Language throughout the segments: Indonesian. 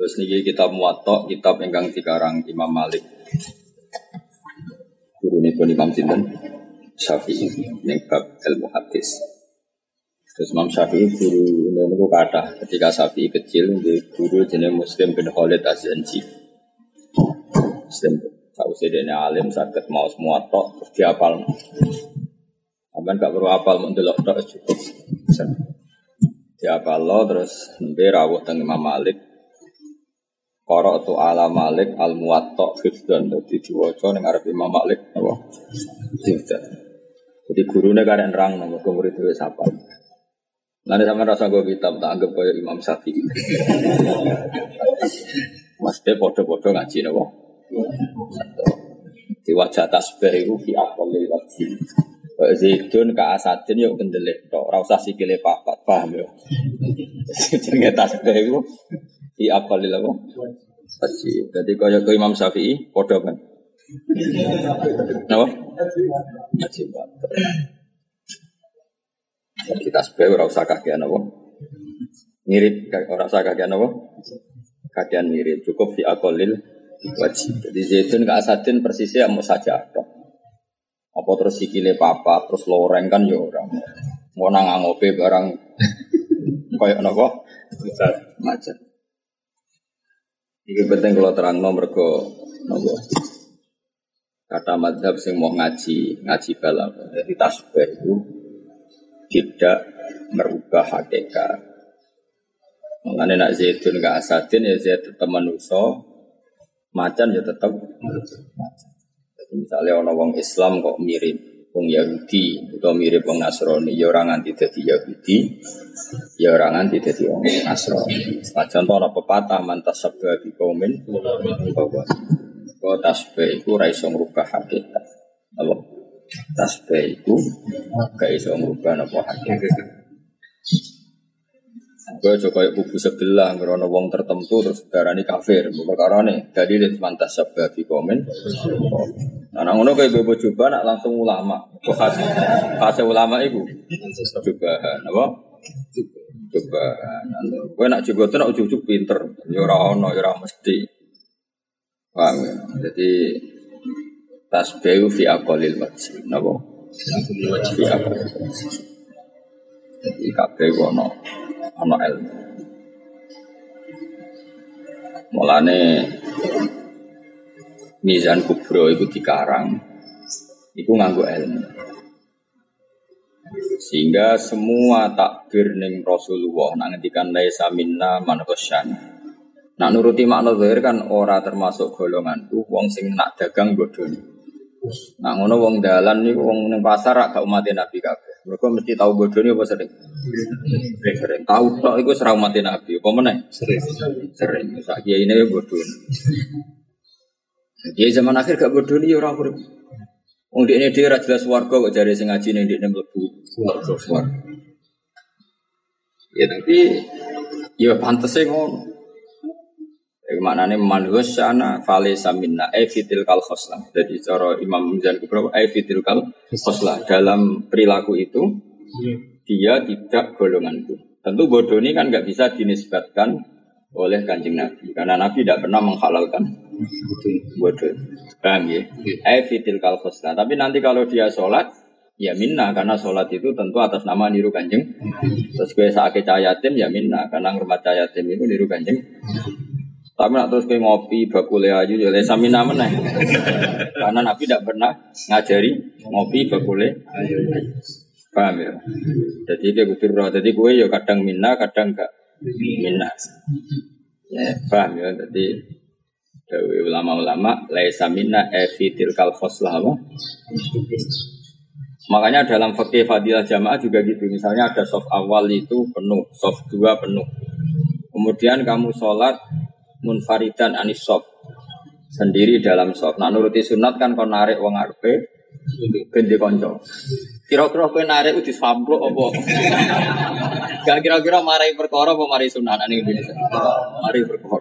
Terus niki kitab Muwatta, kitab ingkang dikarang Imam Malik. Gurunipun Imam sinten? Syafi'i ning bab ilmu hadis. Terus Imam Syafi'i guru niku kathah. Ketika Syafi'i kecil nggih guru jenenge Muslim bin Khalid Az-Zanji. Muslim sausé dene alim saged maos Muwatta terus dihafal. Sampeyan gak perlu hafal mun delok tok cukup. Dihafal terus nembe rawuh teng Imam Malik. Qara'tu ala Malik al-Muwatta hifdzan, dadi diwaca ning arep Imam Malik apa? Hifdzan. Jadi gurune karek nerang nang murid wis hafal. Lan sampeyan rasa go kitab tak anggap kaya Imam Syafi'i. Mesti padha-padha ngaji napa? Diwaca tasbih iku fi aqallil waqti. Zaidun ka asadin yo kendelek tok, ora usah sikile papat, paham yo. Jenenge tasbih iku fi aqallil apa? Waqti. Dadi kaya ke Imam Syafi'i padha kan. Napa? Ngaji banget. Jadi tasbih ora usah kakean apa? Mirip ora usah kakean apa? Kakean mirip, cukup fi aqallil wajib. Jadi zaitun ka asadin persisnya mau saja tok. Apa terus sikile papa terus loreng kan ya ora. Mau nang ngopi barang koyo napa? Macet. Iki penting kalau terangno mergo napa? Kata madzhab sing mau ngaji balap. Jadi tasbih itu tidak merubah hakikat. Mengenai nak zaitun ke asadin ya zait tetap manusia, macan ya tetap macan. Jadi misalnya orang wong Islam kok mirip wong Yahudi atau mirip wong Nasrani, ya orang nganti dadi Yahudi, ya orang nganti dadi wong Nasrani. Contoh ana pepatah mantas sabda bi kaumin bahwa kok tasbih iku ora iso ngrubah hakikat. Apa? Tasbih iku gak iso ngrubah napa hakikat. Gue coba kubu sebelah ngerono wong tertentu terus darani kafir, perkara nih. Jadi dia mantas sabda di komen. Nah, ngono kayak bebo coba nak langsung ulama. Fase ulama itu cobaan, apa? Cobaan. Gue nak coba tuh nak ujuk pinter, yorono yorang mesti. Paham ya? Jadi tasbih fi aqallil wajib, napa? Fi aqallil wajib. Jadi kabeh ono ilmu. Mulane Mizan Kubro itu dikarang, itu nganggo ilmu. Sehingga semua takbir ning Rasulullah nak ngendikan laisa minna man ghasyana. Nak nuruti makna zahir kan ora termasuk golonganku wong sing nak dagang bodoni. Nak ngono wong dalan niku wong ning pasar gak umat Nabi kabeh. Mereka mesti tahu bodoni apa sering? Sering. Tahu tok iku ora umat Nabi, apa meneh? Sering. Sak kiai ini bodoni. Kiai zaman akhir gak bodoni ya ora urip. Wong dekne dhewe ora jelas warga kok jare sing ngaji ning dekne mlebu warga. Ya tapi ya pantese ngono. Maknane manhus sana fale saminna fitil kal khoslah. Jadi cara Imam Mizan Kubro fitil kal khoslah dalam perilaku itu dia tidak golonganku. Tentu bodoni kan enggak bisa dinisbatkan oleh Kanjeng Nabi karena Nabi tidak pernah menghalalkan bodoni. Paham ya? Fitil kal khoslah. Tapi nanti kalau dia sholat ya minna karena sholat itu tentu atas nama niru Kanjeng. Terus gue saake cayatim ya minna karena ngurmat cayatim itu niru Kanjeng. Tapi nak terus kayak ngopi bakule ayu ya lesa mina meneh. Karena Nabi tidak pernah ngajari ngopi bakule ayu. Paham ya? Jadi kayak kudu roh. Jadi gue ya kadang minna, kadang enggak minna. Ya, paham ya? Jadi ulama-ulama lesa minna fitil kal khoslah apa? Makanya dalam fikih fadilah jamaah juga gitu. Misalnya ada shaf awal itu penuh, shaf 2 penuh. Kemudian kamu sholat munfaridan anis shaf sendiri dalam shaf. Nah nuruti sunat kan kon narik wong arepe gende kanca. Kira-kira kowe narik udah samplok apa? Gak kira-kira marai perkara apa marai sunat ning Indonesia. Mari perkara.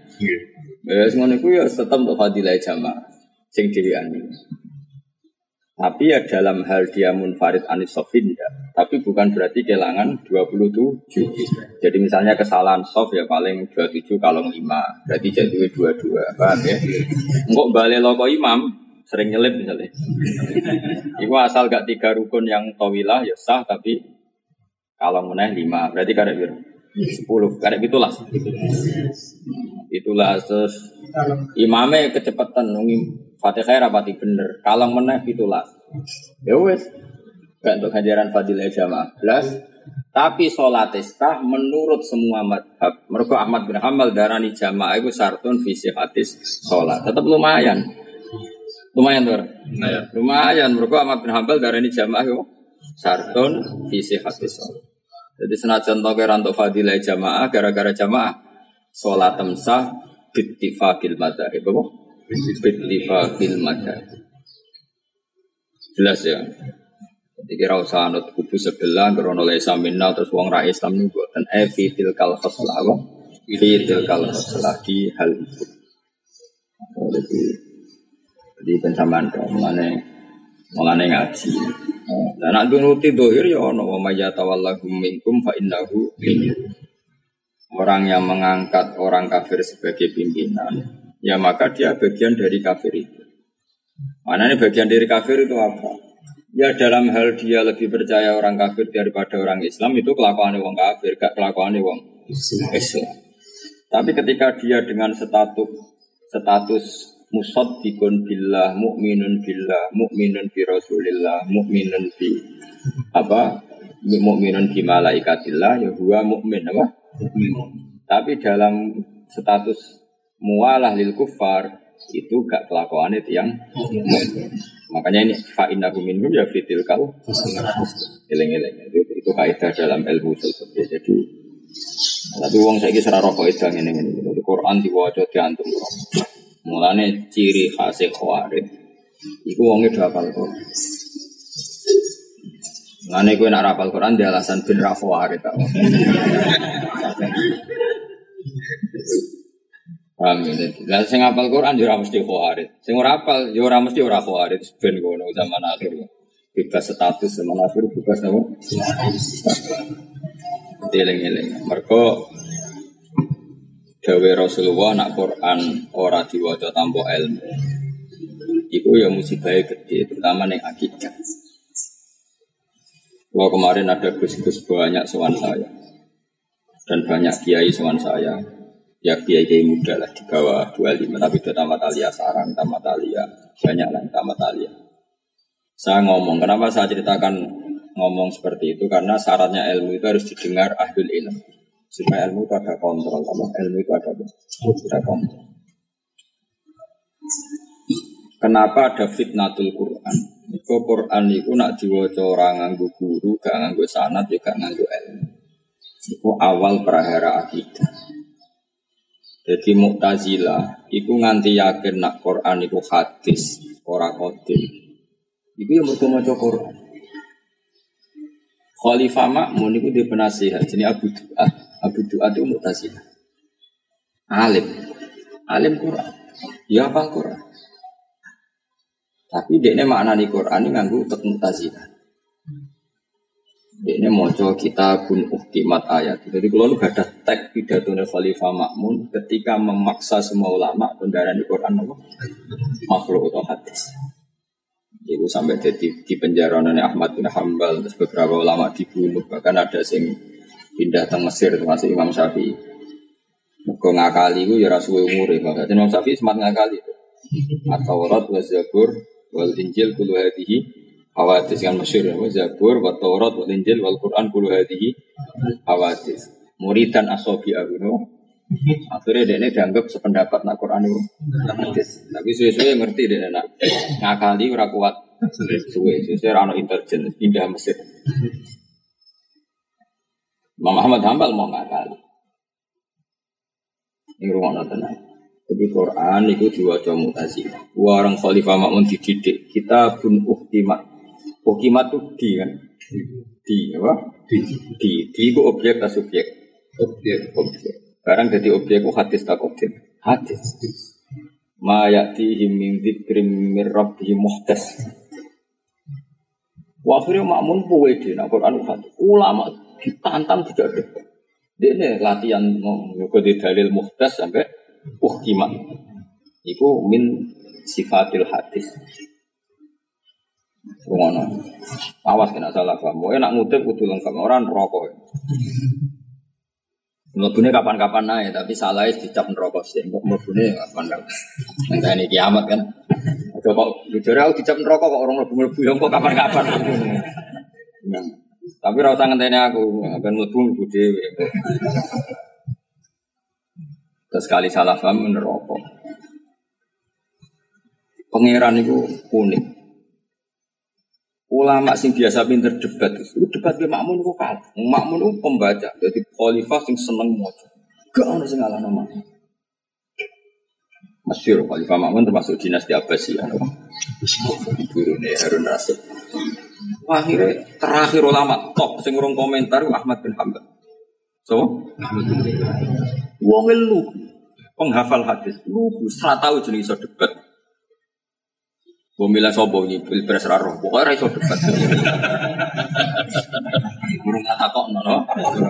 Wes ngono iku ya tetep untuk fadilah jamaah sing dhewean. Tapi ya dalam hal dia munfarid anis sofin ya. Tapi bukan berarti kehilangan 27. Jadi misalnya kesalahan sof ya paling 27 kalau 5. Berarti jadi 22. Paham ya? Enggak balik loko imam sering nyelip misalnya. Itu asal gak 3 rukun yang tawilah ya sah, tapi kalau meneh 5. Berarti karek biru 10. Karek itulah. Itulah terus imamnya kecepatan nunggu Fatihah rapati bener. Kalau meneh itulah. Ya wes. Gak untuk ganjaran fadilah jamaah. Tapi sholat sah menurut semua madhab. Mergo Ahmad bin Hanbal darani jamaah itu syartun fi sihhatis sholat. Tetap lumayan. Lumayan tuh. Lumayan. Mergo Ahmad bin Hanbal darani jamaah itu syartun fi sihhatis sholat. Jadi senajan to kira untuk fadilah jamaah gara-gara jamaah sholat sah bittifaqil madzhab. Apa? Bittifaqil madzhab. Jelas ya. Dikira usah anut kubu sebelah krono laisa minna terus wong ra Islam niku boten fitil kal khoslah wa fitil kal khoslah di hal itu. Jadi pensamaan mulane ngaji. Lah nek nuruti dohir ya ono wa mayyatawallahu minkum fa innahu minkum. Orang yang mengangkat orang kafir sebagai pimpinan, ya maka dia bagian dari kafir itu. Mana ini bagian dari kafir itu apa? Ya dalam hal dia lebih percaya orang kafir daripada orang Islam itu kelakuannya wong kafir, gak kelakuannya wong Islam. Tapi ketika dia dengan status musaddiqun billah, mukminun bi rasulillah, mukminun bi malaikatillah, ya huwa mukmin apa? Mukmin. Tapi dalam status mualah lil kuffar itu gak kelakuannya yang makanya ini fa'innahu minhum ya fitil kal eleng-eleng itu kaidah dalam ilmu usul fikih. Jadi tapi wong saiki ora ro kaidah ngene-ngene. Jadi Quran diwaca diantum. Mulane ciri khas khawarij iku wonge do hafal Quran. Mulane kowe nek hafal Quran di alasan ben ra khawarij ta. Amin. Lah sing hafal Quran yo ora mesti khawarij. Sing ora hafal yo ora mesti ora khawarij ben ngono zaman akhir. Bebas status zaman akhir bebas apa? Deleng-eleng. Mergo dawe Rasulullah nak Quran ora diwaca tanpa ilmu. Iku ya musibah gede terutama ning akidah. Wah kemarin ada gus-gus banyak sowan saya. Dan banyak kiai sowan saya. Ya kiai muda lah di bawah 25 tapi sudah tamat aliyah sarang, tamat aliyah banyak lah tamat aliyah. Saya ngomong, kenapa saya ceritakan ngomong seperti itu karena syaratnya ilmu itu harus didengar ahlul ilm supaya ilmu itu ada kontrol, ilmu itu ada kontrol. Kenapa ada fitnatul Quran? Iku Quran itu nak diwaca orang nganggo guru, gak nganggo sanad, juga nganggo ilmu. Itu awal prahara akidah. Jadi Mu'tazilah iku nganti yakin nak Quran iku hadis ora qadim. Iku yang mergo maca Quran. Khalifah Ma'mun iku di penasihat jenenge Abu Du'at. Abu Du'at itu Mu'tazilah. Alim Quran. Ya hafal Quran. Tapi dekne maknani Quran nganggo tek Mu'tazilah. Ini moco kitabun uhkimat ayat. Jadi kalau lu gak ada teks pidatone Khalifah Ma'mun ketika memaksa semua ulama pendarani Quran apa? Makhluk atau hadis. Itu sampai jadi di penjara oleh Ahmad bin Hanbal terus beberapa ulama dibunuh bahkan ada yang pindah ke Mesir termasuk Imam Syafi'i. Mergo ngakali itu ya rasuwe umure bahkan Imam Syafi'i semangat ngakali. At-Taurat wa Zabur wal Injil kullu hadhihi hawadis kan masyhur ya Zabur wa Taurat wa Injil wal Quran kullu hadhihi hawadis. Muridan ashabi Abu akhirnya dia dianggap sependapat nak Quran itu hadis. Tapi suwe-suwe ngerti dia nak ngakali ora kuat suwe-suwe ora ono intelijen pindah Mesir. Imam Ahmad Hanbal mau ngakali. Ini rumah tenan. Jadi Quran itu diwaca Mu'tazilah. Orang Khalifah Ma'mun dididik kitabun uhkimat. Uhkimat itu di kan? Di apa? Di itu objek atau subjek? Objek. Sekarang jadi objek hadis tak objek? Hadis. Ma ya'tihim min dzikrim mir rabbihim muhdas. Akhirnya makmun puwede nak Quran khatam. Ulama ditantang tidak ada. Dia latihan nggo di dalil muhtas sampai uhkimat. Iku min sifatil hadis. Ngono. Awas kena salah paham. Pokoke nak ngutip kudu lengkap ora neraka. Mlebune kapan-kapan nae tapi salahnya dicap neraka sih. Kok mlebune kapan-kapan. Nang kiamat kan. Aja kok jujur aku dicap neraka kok orang mlebu-mlebu yo kok kapan-kapan. Tapi ora usah ngenteni aku, ben mlebu dhewe. Terus sekali salah paham neraka. Pangeran itu unik. Ulama sing biasa pinter debat itu debat be makmun kok kalah. Makmun itu pembaca, jadi khalifah sing seneng maca. Gak ono sing ngalahno makmun. Masyhur khalifah makmun termasuk dinasti Abbasiyah. Turune Harun Rasyid. Akhirnya terakhir ulama top sing urung komentar Ahmad bin Hanbal. So, wong lu penghafal hadis lu ora tau jeneng iso debat. Pemilihan sobo ini pilpres raro, pokoknya raiso debat. Burung kata kok no.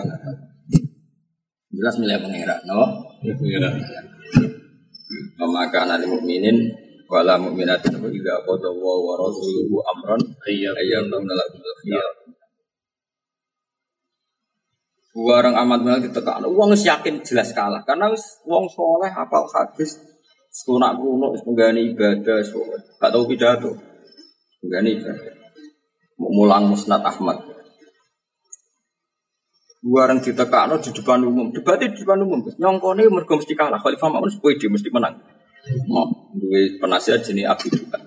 Jelas milih pengira, no. Maka nanti mukminin, wala mukminatin juga qada wa rasuluhu amran ayyam nalakum khiyar. Orang amat banget ditekan. Uang yakin jelas kalah karena uang soleh hafal hadis. Sunak kuno menggani ibadah, gak tahu pidato, menggani ibadah. Mulang musnad Ahmad. Dua orang ditekakno di depan umum, debatnya di depan umum. Nyongkone mergo mesti kalah. Khalifah Ma'mun sepede mesti menang. Duwe penasihat jenis Abi Dukan.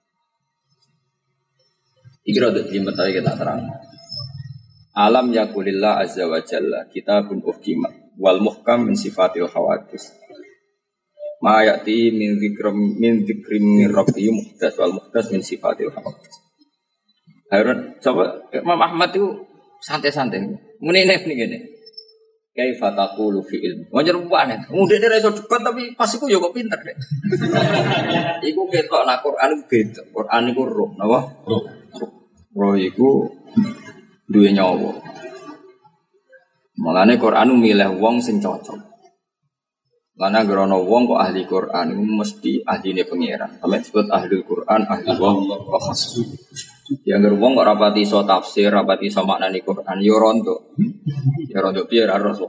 Iki rada jelimet ae kita terang. Alam yakulillah azza wa jalla kitabun uhkimat wal muhkam min sifatil hawadis. Ma ya'ti min dzikrim min rabbi muhdas wal muhdas min sifatil hawadis. Harun coba Imam Ahmad itu santai-santai. Muni nek ngene. Kaifa taqulu fi ilmi. Wajar banget. Mudene ra iso debat tapi pas iku yo kok pinter deh. Iku ketok nak Quran beda. Quran iku roh, napa? Roh iku duwe nyawa. Mulane Quran milih wong sing cocok. Karena gerono wong kok ahli Quran itu mesti ahline pangeran. Sampai disebut ahli Quran, ahli wong wa khas. Yang wong kok rapati iso tafsir, rapati iso maknani Quran yo rondo. Ya rondo piye ra rondo.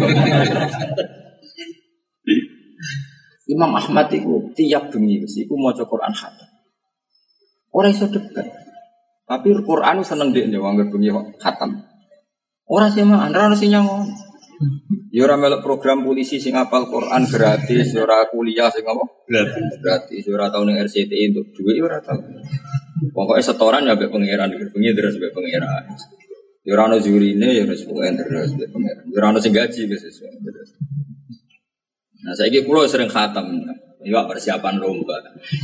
Imam Ahmad itu tiap bengi iku maca Quran khatam. Ora iso debat. Tapi Quran seneng dekne wong bengi khatam. Ora sih mah ora sing nyangon. Ya ora melok program polisi sing hafal Quran gratis, ora kuliah sing apa? Gratis. Ora tau ning RCTI untuk duit ora tau. Pokoke setoran ya mbek pangeran, bengi terus mbek pangeran. Ya ora ono jurine ya wis pokoke terus mbek pangeran. Ya ora ono sing gaji wis terus. Nah saiki kula sering khatam. Ya persiapan lomba.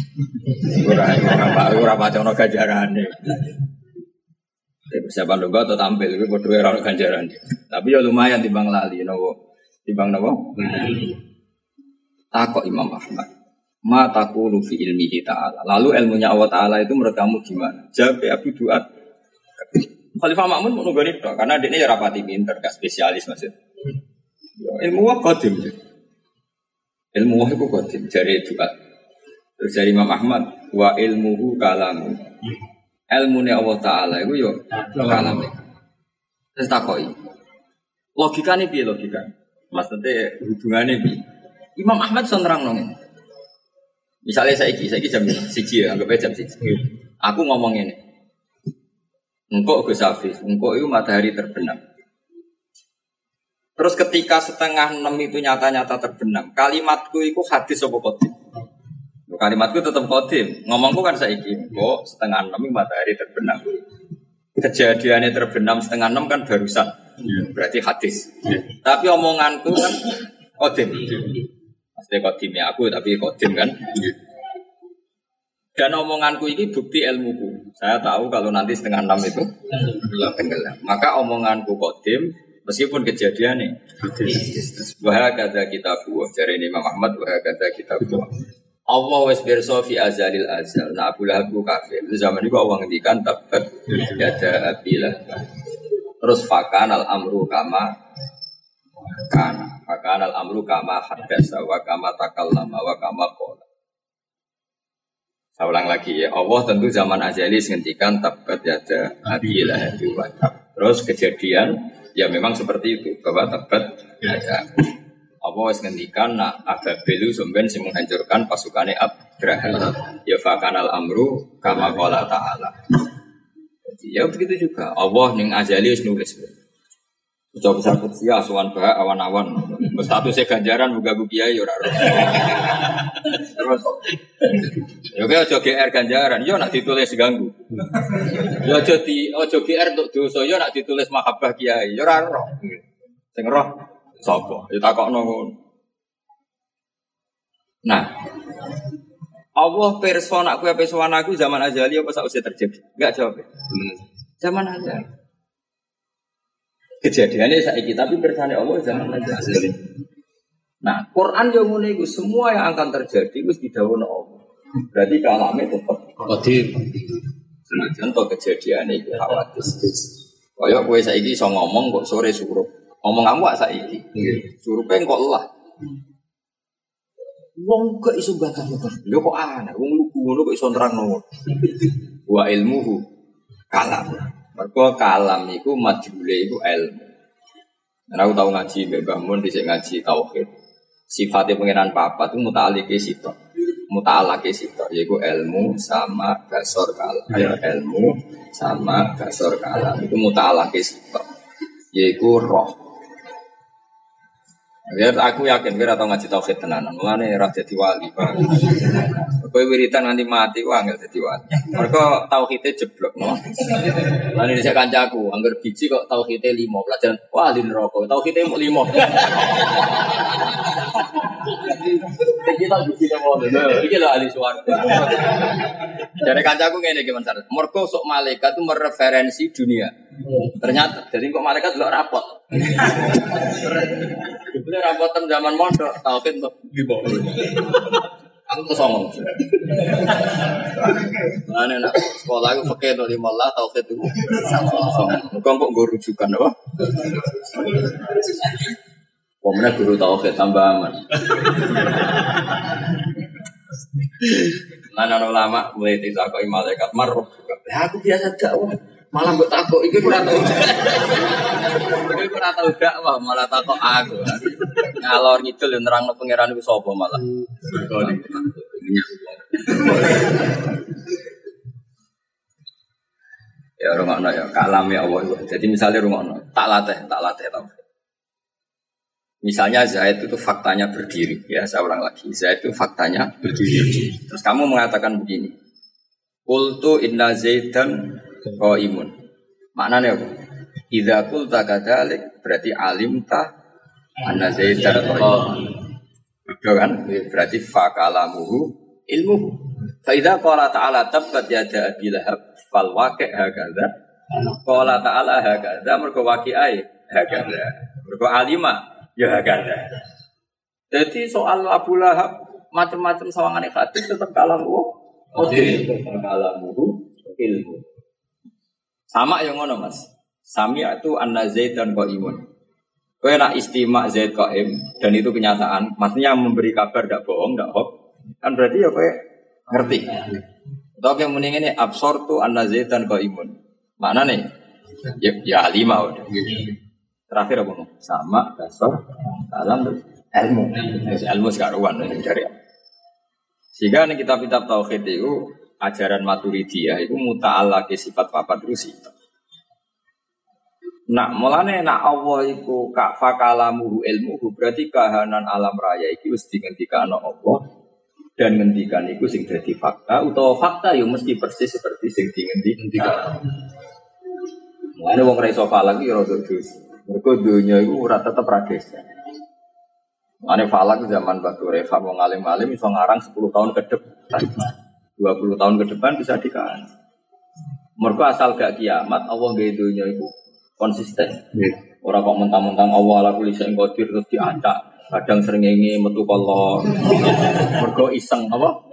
Ora pacana ganjarane. Persiapan lomba atau tampil itu berdua orang ganjaran. Tapi ya lumayan timbang lali, timbang nopo. Takok Imam Ahmad. Ma taqulu fi ilmihi ta'ala. Lalu ilmunya Allah Ta'ala itu menurut kamu gimana? Jawab Abu Duat. Khalifah Ma'mun mau nunggani doa karena dia ya rapati pinter, gak spesialis maksud. Ilmu wah qadim. Ilmu wah itu qadim jari Duat. Terus dari Imam Ahmad wa ilmuhu kalamu. Ilmunya Allah Ta'ala itu yo kalam. Terus takoi. Logikanya piye logika? Maksudnya hubungannya piye? Imam Ahmad sonrang nong. Misalnya saya jam 1 ya, anggap aja jam 1. Aku ngomong ini. Engkau Gus Hafiz, engkau itu matahari terbenam. Terus ketika 5:30 itu nyata-nyata terbenam, kalimatku itu hadis apa qadim? Kalimatku tetap qadim. Ngomongku kan saiki, engkau 5:30 matahari terbenam. Kejadiannya terbenam 5:30 kan barusan. Berarti hadis. Tapi omonganku kan qadim. Maksudnya qadimnya aku tapi qadim kan. Dan omonganku ini bukti ilmuku. Saya tahu kalau nanti 5:30 itu tenggelam. Maka omonganku qadim meskipun kejadiannya. Wa hakadza kitabu. Jare Imam Ahmad wa hakadza kitabu. Allah wis pirsa fi azalil azal. Nah Abu Lahab ku kafir. Itu zaman itu Allah ngendikan tabat yada abilah. Terus fakanal amru kama kana. Fakanal amru kama hadasa wa kama takallama wa kama qala. Saya ulang lagi ya. Allah tentu zaman azali ngendikan tabat yada abilah wa. Terus kejadian ya memang seperti itu bahwa tabat yada. Apa wis ngendikan nak Ababil sampeyan sing menghancurkan pasukane Abraha. Ya fakanal amru kama qala ta'ala. Jadi ya begitu juga. Allah ning azali wis nulis. Coba besar putih asuhan bah awan-awan. Statusnya ganjaran buka kiai ya ora. Terus yo aja GR ganjaran, yo nak ditulis ganggu. Yo aja GR untuk dosa, yo nak ditulis mahabbah kiai, yo ora roh. Sing roh sapa? Ya takokno ngono. Nah, Allah pirsa nak kowe ape sowan aku zaman azali apa sausé terjadi? Enggak jawab. Zaman azali. Kejadiannya saiki tapi pirsane Allah zaman azali. Nah, Quran yo ngene iku semua yang akan terjadi wis didhawuhna Allah. Berarti kalame tetep qadir. Senajan to kejadiane iku khawatir. Kaya kowe saiki iso ngomong kok sore surup. Ngomong kamu gak saiki. Surupe kok lelah. Wong kok iso bakar-bakar. Lho kok aneh, wong lugu ngono kok iso nerangno. Wa ilmuhu kalam. Mergo kalam iku majhule iku ilmu. Nek aku tau ngaji Mbak Mbah Mun dhisik ngaji tauhid. Sifatnya pengenan papat itu muta'alike sitok. Muta'alake sitok yaiku ilmu sama basor kalam. Ilmu sama basor kalam itu muta'alake sitok. Yaiku roh. Biar aku yakin kira tau ngaji tauhid tenanan. Mulane ora dadi wali. Kowe wiritan nganti mati ku angel dadi wali. Mergo tauhide jeblok no. Lan dhisik kancaku, angger biji kok tauhide 5, pelajaran wali neraka. Tauhide mung 5. Kita biji ngono. Iki lho ahli swarga. Jare kancaku ngene iki Mas. Mergo sok malaikat itu mereferensi dunia. Ternyata jadi kok malaikat delok rapot. Dibeli rapotan zaman mondok, tauhid untuk dibawa. Aku kesongong. Mana nak sekolah aku pakai untuk 15 tauhid itu. Bukan kok gue rujukan apa? Pemenang guru tauhid tambah aman. Nana ulama mulai ditakoi malaikat maruf. Aku biasa dakwah. Malah mbok takok iki ora tau. Iki ora tau dakwah malah takok aku. Ngalor ngidul nerangno pangeran iku sapa malah. Ya rungokno ya kalame Allah. Jadi misalnya rungokno, tak latih tau. Misalnya Zaid itu faktanya berdiri, ya saya ulang lagi. Zaid itu faktanya berdiri. Terus kamu mengatakan begini. Qultu inna Zaidan qaimun. Maknanya apa? Idza qulta kadzalik berarti alimta anna Zaidan qaimun. Betul kan? Berarti fakalamuhu ilmuhu. Fa idza qala ta'ala tabbat yada Abi Lahab fal waqi' hakadha. Qala ta'ala hakadha mergo waqi'ai hakadha. Mergo alima ya hakadha. Jadi soal Abu Lahab macam-macam sawangane hadis tetap kalamuhu kalamuhu ilmu. Sama yang ngono Mas. Sami itu anna Zaidan qaimun. Kowe nak istimak Zaid qaim dan itu kenyataan, maksudnya memberi kabar ndak bohong, ndak hoax. Kan berarti ya kowe ngerti. Atau yang mending ini absortu anna Zaidan qaimun. Maknane ya lima udah. Terakhir apa no? Sama dasar dalam ilmu. Ilmu sekaruan dari. Sehingga nih kitab-kitab tauhid itu ajaran Maturidiyah itu muta'allaqi sifat papat terus itu. Nah, mulane nak Allah iku ka fakalamuhu ilmuhu berarti kahanan alam raya iki wis dingendikane Allah dan ngendikan iku sing dadi fakta utawa fakta yo mesti persis seperti sing dingendikan. Mulane wong ra iso falak iki rada dus. Mergo donya iku ora tetep ra desa. Mulane falak zaman Batu Reva wong alim-alim iso ngarang 10 tahun ke depan. 20 tahun ke depan bisa dikaji. Mergo asal gak kiamat Allah gawe donya iku konsisten. Orang kok mentang-mentang Allah ala kulli syai'in qadir terus diacak. Kadang srengenge metu kolor. Mergo iseng apa?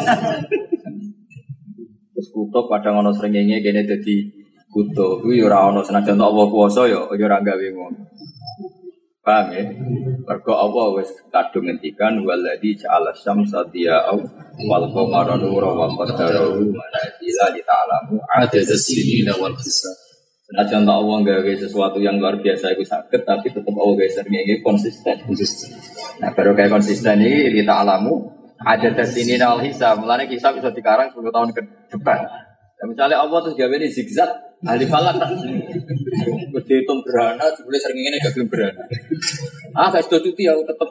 Terus kutub kadang ana srengenge kene dadi kutub. Kuwi ora ana senajan Allah kuwasa ya ora gawe ngono. Paham ya? Mergo Allah wis kadung ngendikan waladzi ja'ala syamsa diya'au wal qamara nuran wa qaddarahu manazila li ta'lamu adada sinina wal hisab. Senajan Allah gawe sesuatu yang luar biasa itu sakit, tapi tetap Allah gawe srengenge konsisten. Nah, baru kayak konsisten ini kita alamu adada sinina wal hisab. Mulane hisab bisa dikarang 10 tahun ke depan. Nah, misalnya Allah terus gawe ini zigzag, ahli falak kan. Wis dihitung gerhana, jebule srengenge gak gelem gerhana. Gak sedo cuti aku tetep.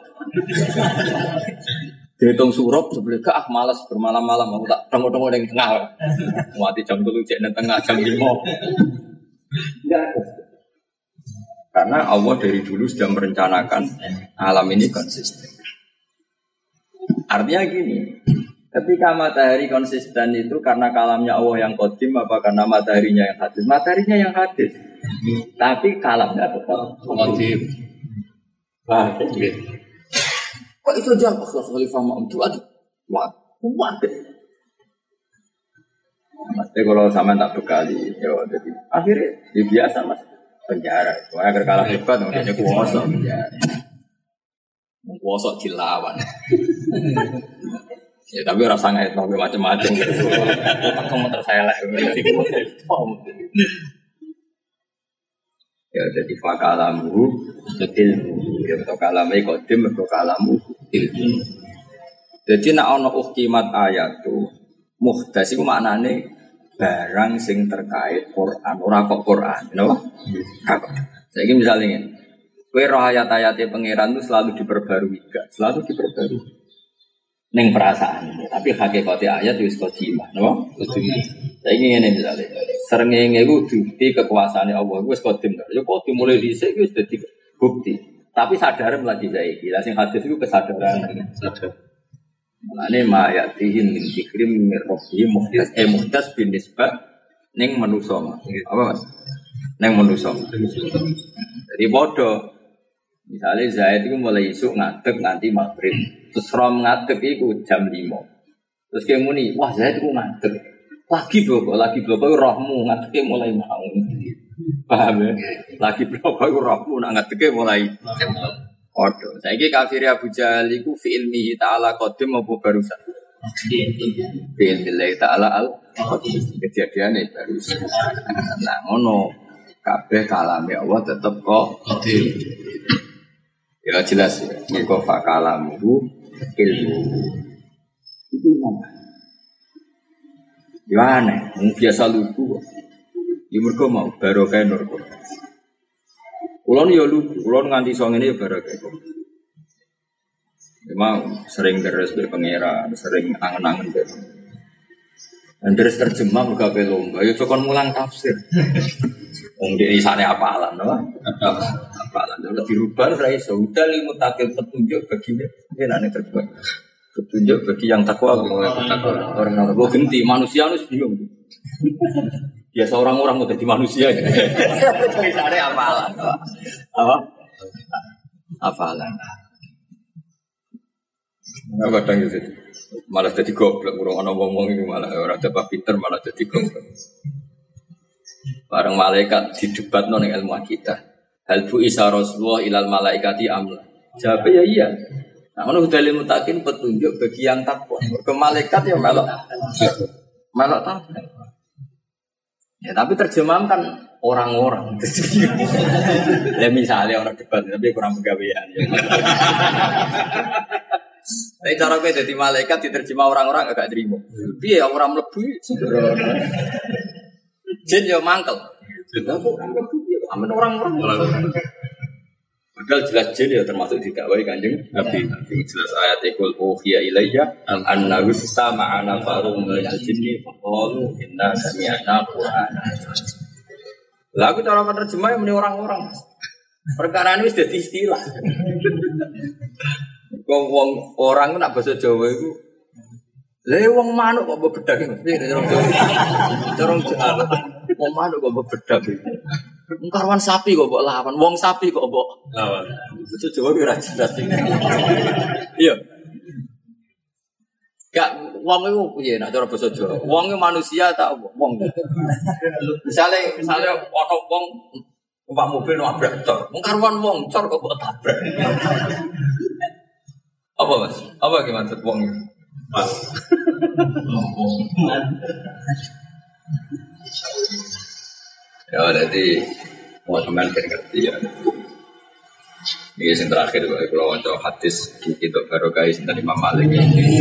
Dihitung surup jebule gak malas bermalam-malam aku tak tengok-tengok ning tengah. Mati jam 3 jek nang tengah jam 5. Enggak. Karena Allah dari dulu sudah merencanakan alam ini konsisten. Artinya gini, ketika matahari konsisten itu karena kalamnya Allah yang qadim apa karena mataharinya yang hadis? Mataharinya yang hadis. Tapi kalamnya tetap qadim. Wah, kok itu jawab Khalifah Ma'mun itu aduh. Wah, kuat. Mas, kalau sama tak bekali, ya jadi akhirnya ya biasa mas penjara. Soalnya agar kalah hebat, makanya kuasa penjara. Kuasa dilawan. Ya tapi rasa ngait nabi macam-macam gitu. Kamu terselek. Ya jadi fakalamu ilmu. Ya untuk kalamai kodim, untuk kalamu ilmu. Jadi nak ono uktimat ayat tu muhdas itu maknane barang sing terkait Quran, ora kok Quran, napa? Saiki misalnya ngene. Kowe roh ayat-ayate pangeran itu selalu diperbarui, gak? Selalu diperbarui. Ning perasaan, tapi hakikate ayat wis qadimah, napa? Qadimah. Saiki ngene misalnya. Srengenge iku bukti kekuasaane Allah, wis qadim. Ya kok dimulai dhisik wis dadi bukti. Tapi sadar lagi saiki. Lah sing hadis iku kesadaran. Sadar. Mulane mayatihin min dzikrim min rabbi muhdas bin nisbah ning manusa. Apa Mas? Ning manusa. Jadi bodoh. Misalnya Zaid itu mulai isuk ngadeg nganti maghrib. Terus rom ngadeg iku jam 5. Terus kayak muni, wah Zaid itu ngadeg. Lagi bloko rohmu ngadege mulai mau. Paham ya? Lagi bloko rohmu ngadege mulai Odo. Saiki kafir Abu Jahal iku fi ilmihi ta'ala qadim apa barusan? Fi ilmihi ta'ala kejadiane barusan. Nah, ngono kabeh kalame Allah tetep kok qadim. Ya jelas ya. Mergo fa kalamu ilmu. Itu apa? Ya aneh, biasa lugu. Ya mergo mau barokah nur Quran. Kulon ya lugu, kulon nganti song ini ya barokah. Memang sering deres be pangeran, sering angen-angen be. Dan deres terjemah juga be lomba. Ya cokon mulang tafsir. Wong di sana apalan, no? Apalan. Kalau dirubah saya sudah limu takil petunjuk baginya. Ini aneh terjemah. Petunjuk bagi yang takwa. Orang yang takwa genti manusia harus bingung. Ya seorang orang udah di manusia. Misalnya apalan. Apa? Apalan. Nah, kadang gitu. Malah jadi goblok. Orang ngomong itu malah orang coba pinter malah jadi goblok. Barang malaikat di debat non ilmu kita. Hal bu isa Rasulullah ilal malaikati amla. Jawabnya ya iya. Nah, kalau udah ilmu takin petunjuk bagi yang takwa. Ke malaikat ya melok takwa. Ya tapi terjemahan kan orang-orang. Ya misalnya orang debat tapi kurang pegawaian. Tapi cara gue jadi malaikat diterjemah orang-orang agak terima. Iya orang mlebu. Jin yo mangkel. Amin orang-orang. Padahal jelas jin ya termasuk didakwai Kanjeng Nabi. Jelas ayat ikul uhiya ilayya annahu sama'ana farum min al-jinni faqalu inna sami'na qur'ana. Lagu cara menerjemah meni orang-orang. Perkara ini wis dadi istilah. Wong orang nak bahasa Jawa iku wong manuk kok bebedak iki. Dorong Jawa. Wong manuk kok bebedak iki. Karwan sapi kok mbok lawan, wong sapi kok mbok lawan. Itu Jawa ora jelas. Iya. Gak wong iku piye nek cara basa Jawa? Wong manusia ta wong. Misale ana wong numpak mobil nabrak cor. Wong karuan wong cor kok tabrak. Apa Mas? Apa ki maksud wong iki? Ya jadi mau teman ngerti ya. Ini yang terakhir kalau untuk hadis kita baru guys dari Imam Malik.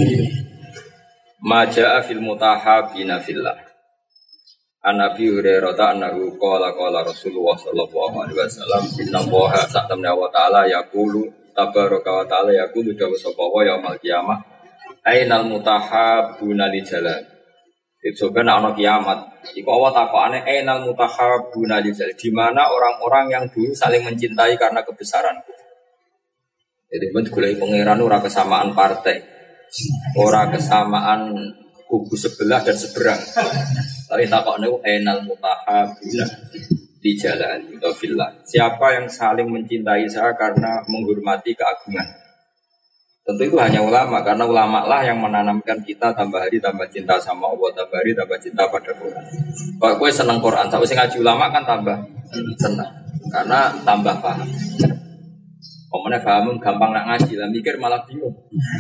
Maja'a fil mutahabina fillah. An Abi Hurairah annahu qala Rasulullah sallallahu alaihi wasallam inna Allaha ta'ala wa ta'ala yaqulu tabaraka wa ta'ala yaqulu dawu sapa wa yaumil qiyamah ainal mutahabuna li jalal. Itu sebenarnya ana kiamat. Iku Allah takokane ainal mutahabuna li jalal. Di mana orang-orang yang dulu saling mencintai karena kebesaran. Jadi bentuk golek pangeran ora kesamaan partai. Ora kesamaan kubu sebelah dan seberang. Tapi takokne enal mutahabuna di jalan atau fillah. Siapa yang saling mencintai saya karena menghormati keagungan? Tentu itu hanya ulama, karena ulama lah yang menanamkan kita tambah hari tambah cinta sama Allah, tambah hari tambah cinta pada Quran. Kalau gue seneng Quran, tapi sing ngaji ulama kan tambah senang, karena tambah paham. Komene paham gampang nak ngaji, lah mikir malah bingung.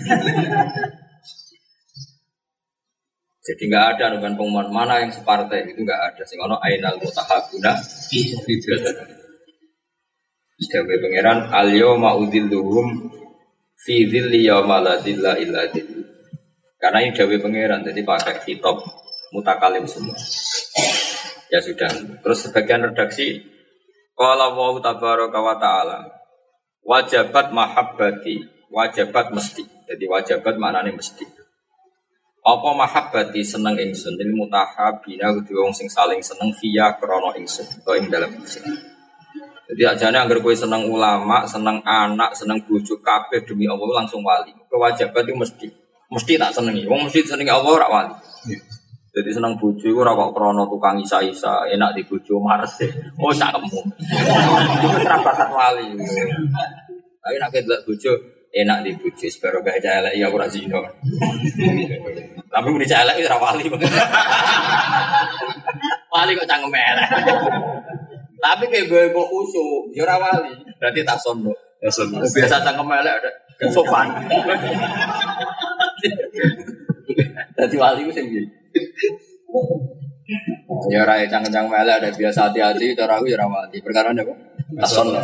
Jadi nggak ada dengan pengumuman mana yang separtai itu nggak ada. Sing ono ainal mutahabuna fi jalan. Sebagai pangeran al-yawma udhilluhum fi dhilli yawma la dhilla illa dhill. Karena ini dawuh pangeran jadi pakai khitab mutakalim semua. Ya sudah. Terus sebagian redaksi qala wa tabaraka wa ta'ala wajabat mahabbati, wajabat mesti. Jadi wajabat maknane mesti. Apa mahabbati seneng ingsun lil mutahabina kudu wong sing saling seneng via krana ingsun utawa ing dalem ingsun. Jadi ajane anggere kowe seneng ulama, seneng anak, seneng bojo kabeh demi Allah langsung wali. Kewajiban itu mesti. Mesti tak senengi. Wong mesti senengi Allah ora wali. Jadi seneng bojo iku ora kok krana tukang isa-isa, enak di bojo mares. Oh sakmu. Iku ora bakat wali. Tapi nek delok bojo enak di bojo sebaro gak elek ya ora zina. Tapi muni elek ora wali. Wali kok cangkem elek. Tapi kayak gue kok usul, ya ora wali. Berarti tak sono. Ya sono. Biasa cangkem elek ada sopan. Dadi wali ku sing piye? Ya ora cangkem elek ada biasa hati-hati cara aku ya ora wali. Perkara apa? Tak sono.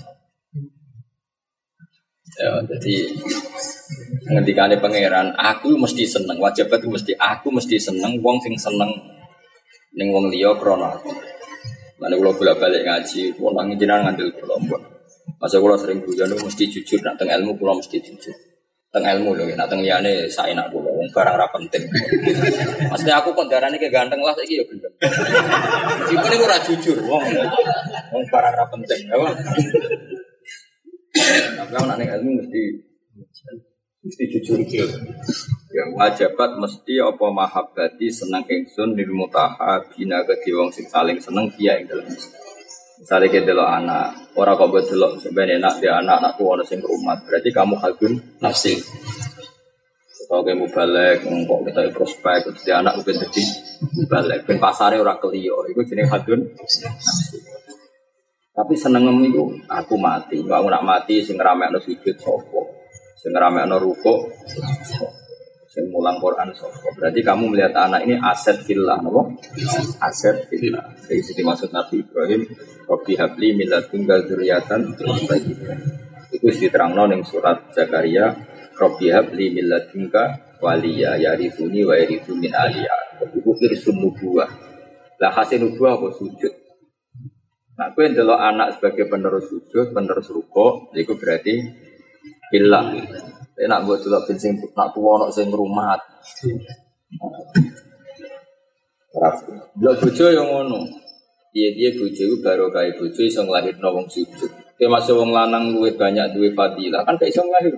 Ya, jadi ngendikane pangeran, aku mesti seneng, wajibat itu mesti aku mesti seneng, wong sing seneng ning wong liya krana aku. Mane kula bolak-balik ngaji, kula jenengan ngandel kula mbon. Masa kula sering guyon mesti jujur, nek teng ilmu kula mesti jujur. Teng ilmu lho, nek teng liyane saenak kula, wong barang ra penting. Maksudnya aku kon darane ke ganteng lah saiki ya gendeng. Iku niku ora jujur, wong barang ra penting, apa? Tapi anak ilmu mesti jujur. Yang wajibat mesti apa mahabbati seneng ingsun lil mutahabina ke wong sing saling seneng via ing dalem. Misale ke delok anak, ora kok mbok delok sampeyan enak dia anak tuwa sing rumah, berarti kamu hadun nafsi. Kalau kamu balik, kok kita prospek, terus dia anak udah jadi balik, ben pasare ora keliyo, itu jenenge hadun nafsi. Tapi senengem itu aku mati, aku nak mati sing ngramekno sujud sapa, sing ngramekno rukuk, sing mulang Quran sapa. Berarti kamu melihat anak ini aset fillah, napa? Aset fillah. Dari situ maksud Nabi Ibrahim, Rabbi habli min ladunka dzurriyyatan thayyibah. Itu diterangno ning surat Zakaria, Rabbi habli min ladunka waliya yarithuni wa yarithu min ali Yaqub. Itu irsun nubuwah. Lah hasil nubuwah apa sujud. Nah, aku yang delok anak sebagai penerus sujud, penerus rukuk, itu berarti billah. Nak buat delok ben sing nak tuwa ana sing ngrumat. Delok bojo yo ngono. Piye-piye bojo iku barokah bojo iso nglahirno wong sujud. Ki masuk wong lanang luwih banyak duwe fadilah, kan gak iso nglahir.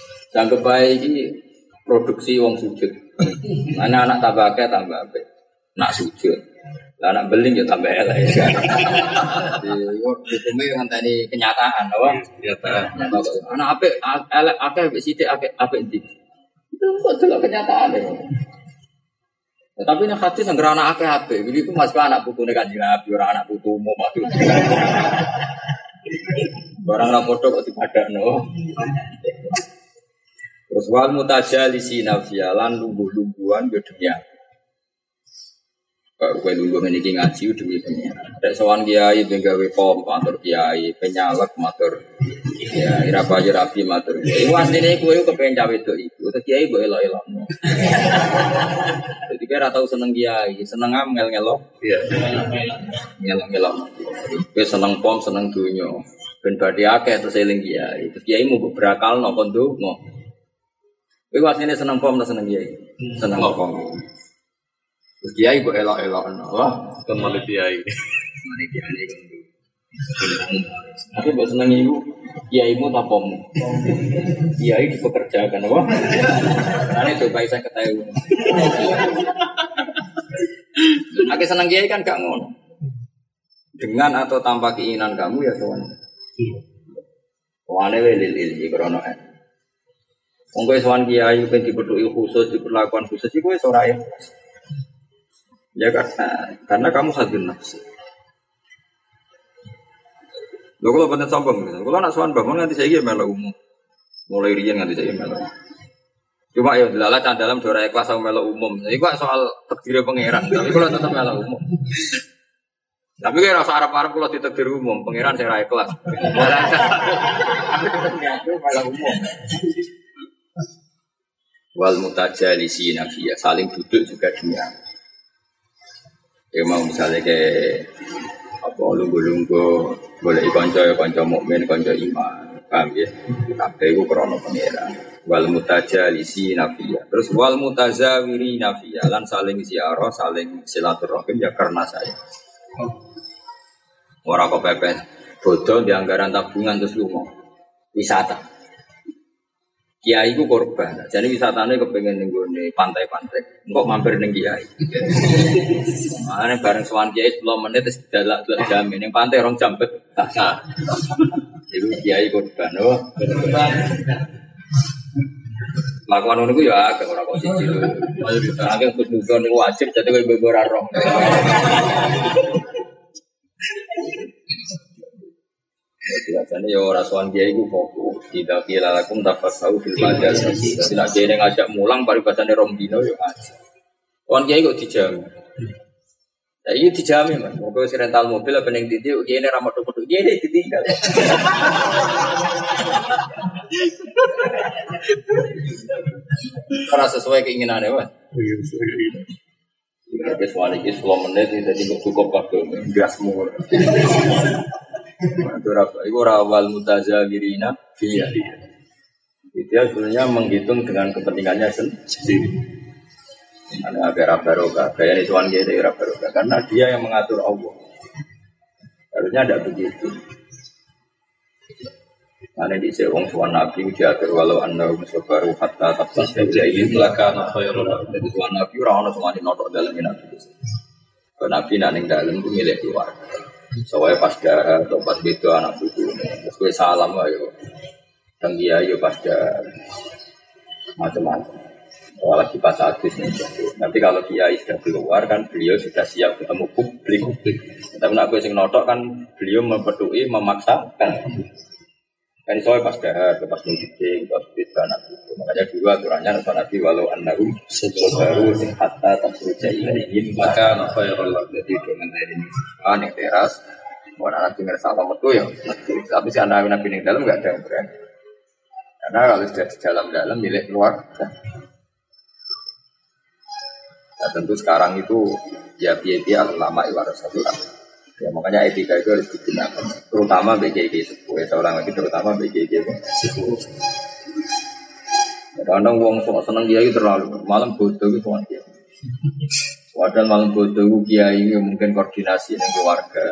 Jangan bae iki produksi wong sujud. Anak-anak tambah akeh tambah apik. nak sujud. Lah nak beling ya tambah elek ya. Jadi hukumnya ngenteni kenyataan, apa? Kenyataan. Anak apik elek akeh mbek sithik apik ndi. Itu kok delok kenyataan ya. Tapi nek hadis sing anak akeh apik, iki ku masuk anak putune Kanjeng Nabi, ora anak putumu maksud. Barang ra padha kok dipadakno. Terus wal mutajalisi nafsialan lungguh-lungguhan yo demi kowe lungguh niki ngaji demi pengiran. Nek sowan kiai ben gawe pom matur kiai, penyalek matur kiai, ira payu rapi matur. Iku asline kowe kepen cawe wedok iku, terus kiai mbok elok-elokno. Dadi kira tau seneng kiai, seneng ngel-ngelok. Iya. Ngelok-ngelok. Kowe seneng pom, seneng donya. Ben badhe akeh terus eling kiai. Terus kiai mau berakalno kon ndonga. Kowe asline seneng pom ta seneng kiai? Seneng pom. Terus kiai kok elok-elok, wah, kembali kiai. Kembali kiai kan. Tapi mbok seneng iku kiaimu ta pommu? Kiai dipekerjakan, wah. Ane coba saya ketahui. Nek seneng kiai kan gak ngono. Dengan atau tanpa keinginan kamu ya sowan. Wane lil iki krono. Wong kowe sowan kiai ben dipethuki khusus, diperlakukan khusus iku wis ora ya. Ya karena kamu hadun nafsi. Lho kalau bener sombong, kalau nak sowan bangun nanti saya melok umum. Mulai riyen nanti saya melok. Cuma ya dilala dalam dora ikhlas sama melok umum. Jadi kok soal takdir pangeran, tapi kalau tetap melok umum. Tapi kayak rasa Arab-Arab kalau ditakdir umum, pangeran saya ikhlas. Melok umum. Wal mutajalisi nafiyah, saling duduk juga dunia. Ya mau misalnya kayak apa lunggu-lunggu boleh kanca mukmin, kanca iman, paham ya? Tapi itu krono pangeran. Wal mutajalisi nafiyah. Terus wal mutazawiri nafiyah. Lan saling ziarah, saling silaturahim ya karena saya. Orang kok pepes bodoh di anggaran tabungan terus lunga wisata. Kiai ku korban, jadi wisatanya kepengen nenggone pantai-pantai, kok mampir neng kiai. Makanya bareng sowan kiai 10 menit terus dalak jam ini pantai 2 jam bet. Itu kiai korban, oh. Lakukan ngono ku ya agak ora kok siji lho. Agak kudu niku wajib dadi kowe ora roh. Biasanya ya orang sowan kiai itu fokus. Tidak kira lakum tafasau fil majalis. Tidak kiai ngajak mulang paribasane rong dino yo aja. Sowan kiai kok dijamin. Ya iki dijamin Mas. Moga wis rental mobil apa ning titik kiai ne ra metu-metu kiai ne ditinggal. Ora sesuai keinginane Mas. Iya, wis wali iki 10 menit dadi cukup kabeh gasmu. Itu rawal mutazawirina fiyah. Dia sebenarnya menghitung dengan kepentingannya sendiri. Ada agar barokah, kayak Ridwan dia ada barokah karena dia yang mengatur Allah. Harusnya ada begitu. Karena di sewong suwan Nabi diatur walau anda musabaru hatta tabas jadi belakang khairul. Jadi suwan Nabi orang orang semua dinotok dalam Nabi. Nabi naning dalam itu milik keluarga. Soalnya pas darah atau pas itu anak buku terus gue salam ayo dan dia ayo pas darah macam-macam lagi pas hadis nih nanti kalau kiai sudah keluar kan beliau sudah siap ketemu publik tapi nak gue sing notok kan beliau mempedui memaksakan kan soalnya pas darah pas muncul pas itu anak buku makanya dulu aturannya Nabi walau annahum baru sing hatta tasruja ilaihim maka khairul jadi dengan dari yang teras orang Nabi ngerasa apa metu ya tapi si anak Nabi di dalam enggak ada yang berani karena kalau sudah di dalam milik luar nah, tentu sekarang itu ya biaya ulama iwarasatul ya makanya etika itu harus digunakan terutama BGG sepuh seorang lagi terutama BGG sepuh kadang wong seneng kiai terlalu malam bodoh itu soal kiai padahal malam bodoh kiai mungkin koordinasi dengan keluarga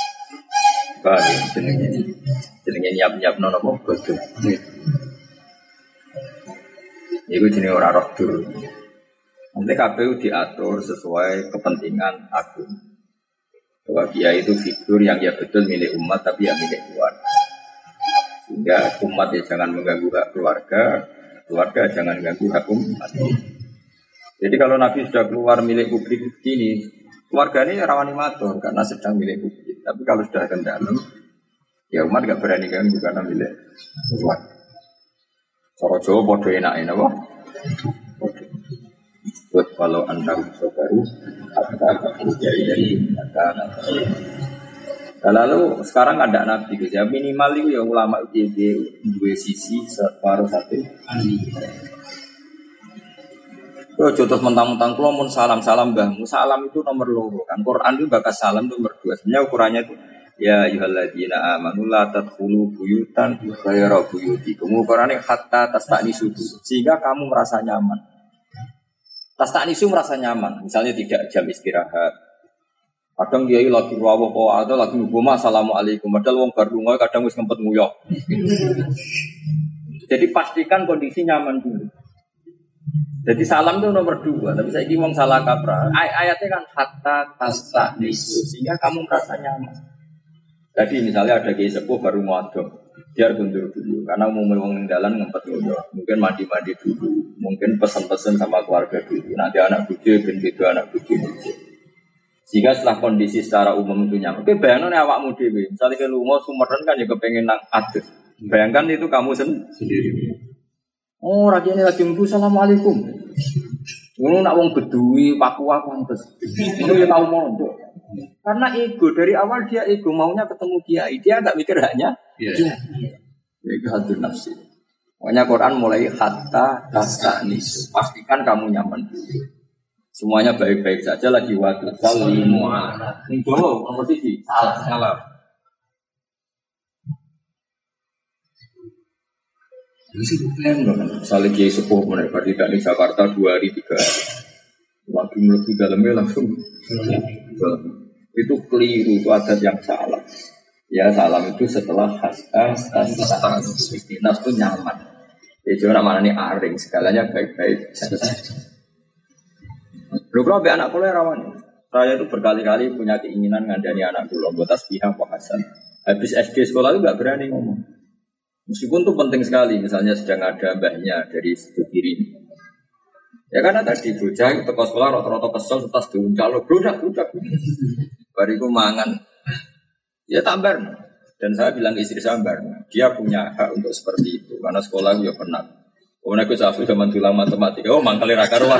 jenenge nyiap nono bodoh itu jenis orang roh dulu Nanti KPU diatur sesuai kepentingan agung. Bahwa kiai itu figur yang ya betul milik umat tapi ya milik keluarga. Sehingga umat ya jangan mengganggu hak keluarga, keluarga jangan mengganggu hak umat. Jadi kalau Nabi sudah keluar milik publik ini, keluarga ini rawan matur karena sedang milik publik. Tapi kalau sudah ke dalam, ya umat gak berani ganggu karena milik keluarga. Cara Jawa podo enak apa? Buat kalau anda baru kata dari kata. Lalu sekarang ada nabi gitu ya minimal itu ya ulama itu dua sisi separuh satu. Yo jotos mentang-mentang kulo mun salam mbahmu salam itu nomor loro kan Quran itu bakas salam itu nomor 2 sebenarnya ukurannya itu ya ayyuhalladzina amanu la tadkhulu buyutan ghayra buyutikum ukurannya hatta tastanisu sehingga kamu merasa nyaman. Tastanisu merasa nyaman misalnya tidak jam istirahat. Kadang dia lagi rawuh kok atau lagi ngomong assalamualaikum padahal wong bar lunga kadang wis ngempet nguyah. Jadi pastikan kondisi nyaman dulu. Jadi salam itu nomor 2, tapi saya ini wong salah kaprah. Ayatnya kan hatta tastanisu sehingga kamu merasa nyaman. Jadi misalnya ada kiai sepuh baru ngodok, biar kundur dulu karena mau wong dalan ngempet nguyah. Mungkin mandi-mandi dulu, mungkin pesen-pesen sama keluarga dulu. Nanti anak bucu ben beda anak bucu. Sehingga setelah kondisi secara umum itu nyaman. Oke, bayangkan awakmu dhewe, misalnya ke lunga Sumeren kan ya kepengen nang adus. Bayangkan itu kamu sendiri. Oh, rakyatnya lagi mbu assalamualaikum. Ngono nak wong Bedui, Papua pantes. Itu ya tahu mondok. Karena ego dari awal dia ego maunya ketemu kiai, dia enggak mikir haknya. Iya. Itu hadir nafsi. Makanya Quran mulai hatta tastanis. Pastikan kamu nyaman dulu. Semuanya baik-baik saja lagi waktu salimu ala. Ning dowo nomor 3 salam. Ini problem kan. Misalnya kiai sepuh mereka tidak di Jakarta 2 hari 3 hari. Lagi melebihi dalamnya langsung. Itu keliru, itu adat yang salah. Ya salam itu setelah istinas itu nyaman. Ya cuma namanya ini aring, segalanya baik-baik saja. Lu kalau anak kuliah rawan. Saya itu berkali-kali punya keinginan ngandani anak kuliah buat tasbihah Pak Hasan. Habis SD sekolah itu nggak berani ngomong. Meskipun itu penting sekali, misalnya sedang ada mbahnya dari sebelah kiri. Ya karena tadi bocah itu ke sekolah rata-rata kesel tas diuncal lo budak. Bariku mangan. Ya tambar. Dan saya bilang ke istri sambar, dia punya hak untuk seperti itu karena sekolah ya pernah. Kemudian aku safu zaman dulu matematika, oh mangkali rakaruan.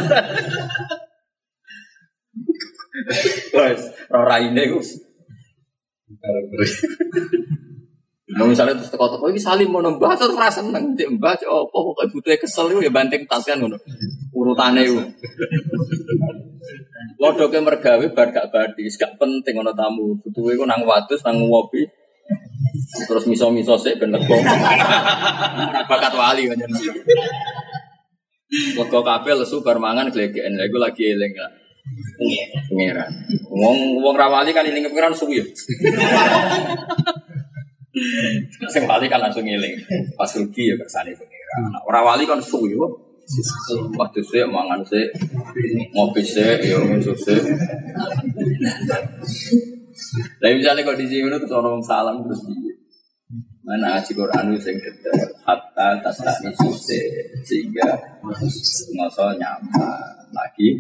Wes, raine Gus. Nah, misalnya terus teko-teko iki salim mau nembah terus ora seneng cek mbah cek apa pokoke butuhe kesel iku ya banting tas kan ngono. Urutane iku. Lodoke mergawe bar gak badis, gak penting ana tamu. Butuhe iku nang wadus nang ngopi. Terus miso-miso sik ben lego. Ora bakat wali kan. Lego kabeh lesu bar mangan glegeken. Lha iku lagi eling lah. Pengeran. Wong ra wali kan eling pengeran suwi. Sing wali kan langsung ngiling. Pas rugi ya kersane pengira. Ora wali kan suwi kok. Waktu sik mangan sik, ngopi sik, ya ngesus sik. Lah misalnya kok di sini terus orang salam terus piye? Mana aji Quran sing detail hatta tasani suse sehingga ngoso nyaman lagi.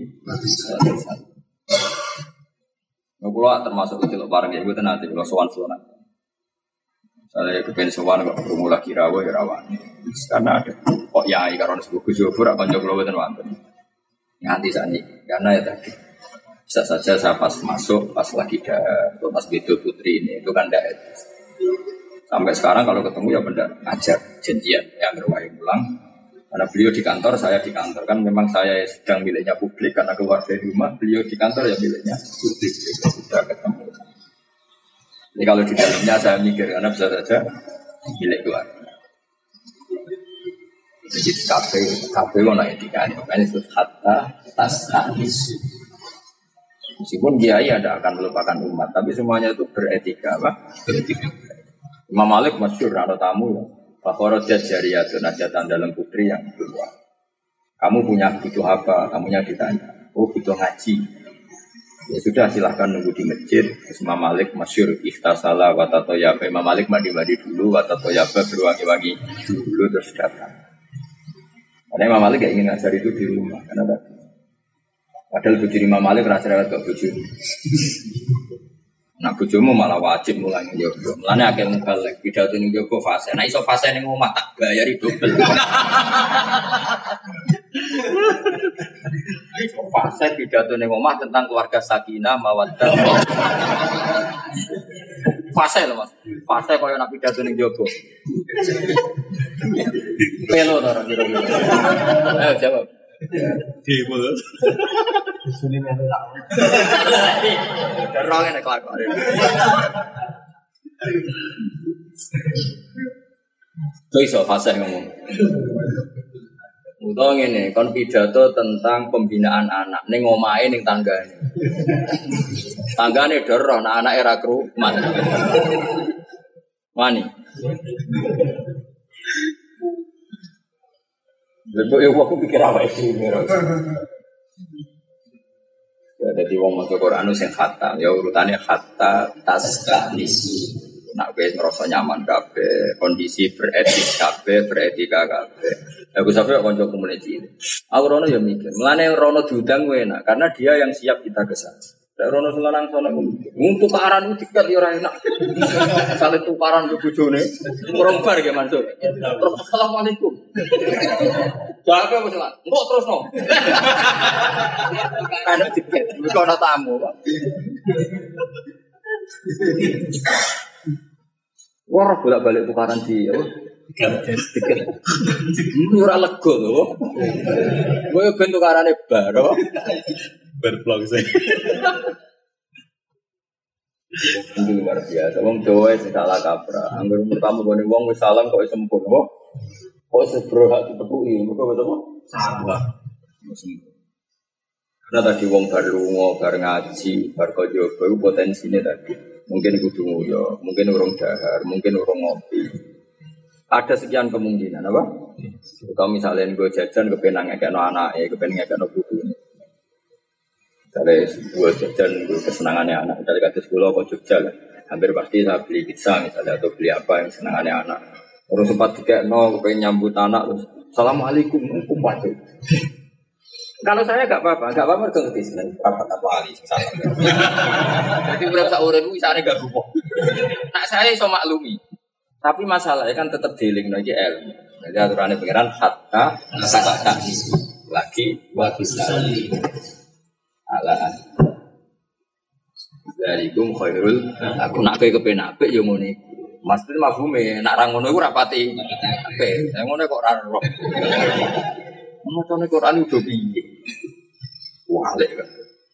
Kalau termasuk kecil barang ya gue nanti kalau sowan-sowan. Saya kepen sowan kok krungu lagi rawuh ya rawan. Karena ada kok yai karo sebut Gus Yofur apa kanca kula mboten wonten. Nganti sakniki karena ya tadi bisa saja saya pas masuk pas lagi pas Bedo Putri ini itu kan tidak sampai sekarang kalau ketemu ya benda ajar janjian yang berwahi pulang karena beliau di kantor saya di kantor kan memang saya sedang miliknya publik karena keluar dari rumah beliau di kantor ya miliknya publik sudah ketemu. Jadi kalau di dalamnya saya mikir karena bisa saja milik keluarga. Jadi kafe mana etika makanya itu hatta tasahis. Meskipun kiai ada akan melupakan umat, tapi semuanya itu beretika, apa? Beretika. Imam Malik masyhur ada tamu ya. Fakhrajat jariyatun najatan dalam putri yang keluar. Kamu butuh apa? Kamunya ditanya. Oh butuh ngaji. Ya sudah silahkan nunggu di masjid. Imam Malik masyhur ikhtasala watatoyaba. Imam Malik mandi dulu watatoyaba berwangi-wangi dulu terus datang. Karena Imam Malik gak ingin ngajar itu di rumah. Karena padahal bojo Imam Malik rasa-rasa gak bojo. Nah bojomu malah wajib mulai njogo. Mulane akeh mubalek pidato ning njogo fase. Nah iso fase ning omah tak bayari dobel. Fase pidato ning omah tentang keluarga sakinah mawaddah. Fase lho Mas. Fase koyo nak pidato ning njogo. Pelo to ora kira-kira. Ayo jawab. Demo. Sune melu lak. Derong nek kelakuan. Kok iso fase ngomong. Utawa ngene, kon pidato tentang pembinaan anak ning omahe ning tanggane. Tanggane dero nek anake ra krumat. Wani. Lebo yo aku pikir apa itu. Ya dadi wong maca Quran sing khatam, ya urutane khatta tasnisi. Nak wis ngrasa nyaman kabeh, kondisi beretis kabeh, beretika kabeh. Aku sampe kanca komuniti. Aku rono ya mikir, mulane rono diundang kowe enak karena dia yang siap kita kesana. Nek rono selanang sono untuk tukaran itu dikat ya ora enak. Sale tukaran ke bojone, urung bar ya Mansur. Terus assalamualaikum. Jaga wis lah. Engko terusno. Karena dikat, kok ana tamu, Pak. Wah, bolak-balik tukaran di apa? Tiket. Ora lega lho. Kowe ben tukarane bar apa? Bar blog saya. Itu luar biasa. Wong Jawa sing salah kaprah. Angger pertama gone wong wis salam kok sempur apa? Kok sebro hak ditepuki. Mergo wis apa? Salah. Karena tadi wong bar lunga, bar ngaji, bar kaya iku potensine tadi. Mungkin kudu nguyo, mungkin urung dahar, mungkin urung ngopi. Ada sekian kemungkinan, apa? Kalau misalnya gue jajan, kepenang ngekekno anaknya, kepenang ngekekno putune. Misalnya gue jajan, gue kesenangannya anak. Misalnya kata sekolah, kok Jogja lah. Hampir pasti saya beli pizza misalnya, atau beli apa yang senangannya anak. Terus sempat dikekno, kepengen nyambut anak, terus Assalamualaikum, kumpul. Kalau saya enggak apa-apa ngerti seneng apa wali salah. Jadi urip sak urip kuwi sakjane gak gupoh. Nak saya iso maklumi. Tapi masalahnya kan tetap dilingno iki ilmu. Jadi aturane pengiran hatta lagi wa bisali. Ala darikum khairul aku nak kowe kepen apik yo ngene iku. Maksud mafhume nak ra ngono iku ora pati apik. Lah ngono kok ora roh. Macane Quran udah piye? Wale kan.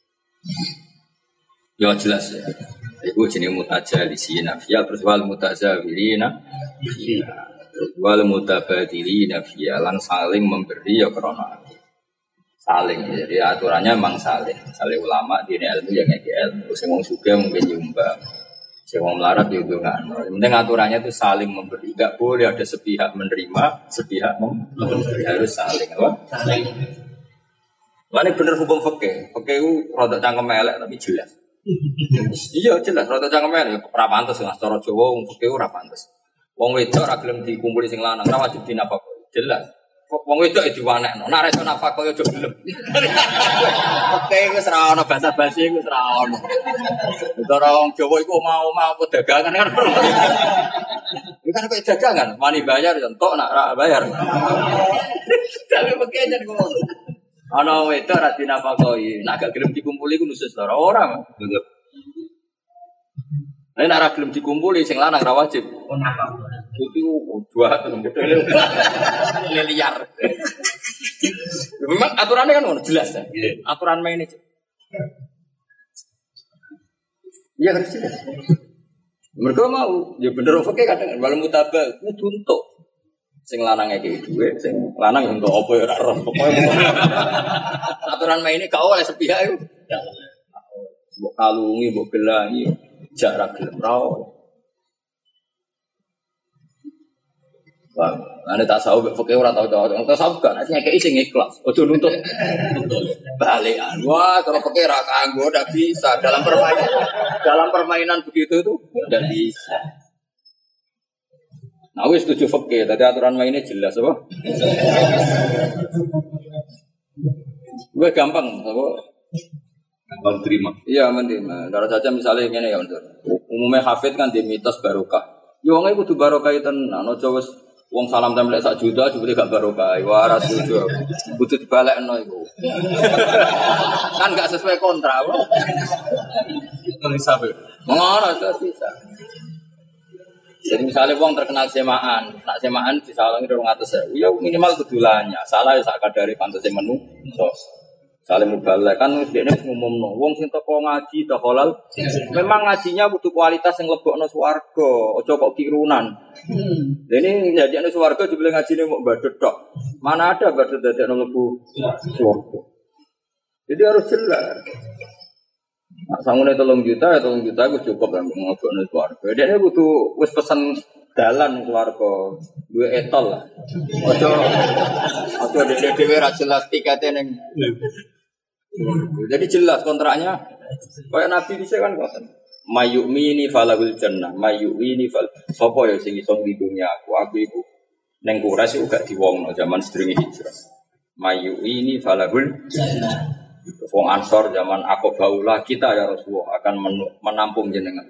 Ya jelas ya. Iku jenenge mutajallisina fiya terus wal mutazawirina fiya. Wal mutabadilina fiya lan saling memberi ya krana saling. Jadi aturannya memang saling. Saling ulama dene ilmu yang ngeki ilmu. Sing wong sugih mungkin nyumbang. Sing wong melarat yo ndongakno. Penting aturannya itu saling memberi. Enggak boleh ada sepihak menerima, sepihak memberi. Harus saling apa? Saling. Ini bener hukum fikih. Fikih itu rada cangkem elek tapi jelas. Iya jelas rada cangkem elek ora pantes Mas cara Jawa wong fikih ora pantes. Wong wedok ora gelem dikumpuli sing lanang ora wajib dinafkahi. Jelas. Wong wedok diwanekno. Nek iso nafkahi aja gelem. Oke wis ra ono basa-basi wis ra ono. Cara wong Jawa iku mau dagangan kan. Iki kan kok dagangan, wani bayar yo entuk nak ra bayar. Tapi pakai jan ngono. Ana wedok ra dinafkahi, nek gak gelem dikumpuli ku nusus ora. Betul. Nek ora gelem dikumpuli sing lanang ra wajib. Oh nafkah. Itu dua liar. Memang aturannya kan jelas ya. Aturan main itu. Iya harus jelas. Mereka mau, ya bener oke kadang walau mutabak kudu untuk sing lanang iki duwe, sing lanang untuk apa ya ora roh. Pokoke aturan main ini kau oleh sepihak itu. Mbok kalungi, mbok gelangi, jarak gelem ra. Wah, ane tak sawu fakir ora tau tau. Tak sawu kan nyekeki sing ikhlas. Ojo nuntut balikan. Wah, kalau fakir ra kanggo ndak bisa dalam permainan begitu itu ndak bisa. Nah, wis setuju fakir, tadi aturan mainnya jelas apa? Gue gampang, apa? Gampang terima. Iya, menerima. Kalau saja misalnya ngene ya, umumnya hafid kan di mitos barokah. Ya wong kudu barokah tenan, aja wis wong salam tempel 1 juta jebule gak barokah. Wah, ora setuju. Kudu dibalekno iku. Kan gak sesuai kontrak. Bisa be. Ngono bisa. Jadi misalnya wong terkenal semaan, nak semaan disalangi 200.000, ya minimal kedulanya. Salah ya sak kadare pantese menu. So, saling mubalek kan wis dekne ngumumno, wong sing teko ngaji tok halal. Memang ngajinya butuh kualitas yang lebokno swarga, aja kok kirunan. Ini njajekno swarga jebule ngajine mok badut tok. Mana ada badut dadekno lebu swarga. Jadi harus jelas. Nah, sangune 3 juta ya 3 juta itu cukup kan ngobokno swarga. Dekne butuh wis pesen dalan swarga, duwe etol lah. Aja dekne dhewe ra jelas tikete ning. Jadi jelas kontraknya. Kayak Nabi bisa kan ngoten. Mayu'mini falahul jannah, mayu'mini fal. Sopo ya sing iso nglindungi aku iku ning Quraisy uga diwongno zaman sedurunge hijrah. Mayu'mini falahul jannah. Wong Ansor zaman Aqabah kita ya Rasulullah akan menampung jenengan.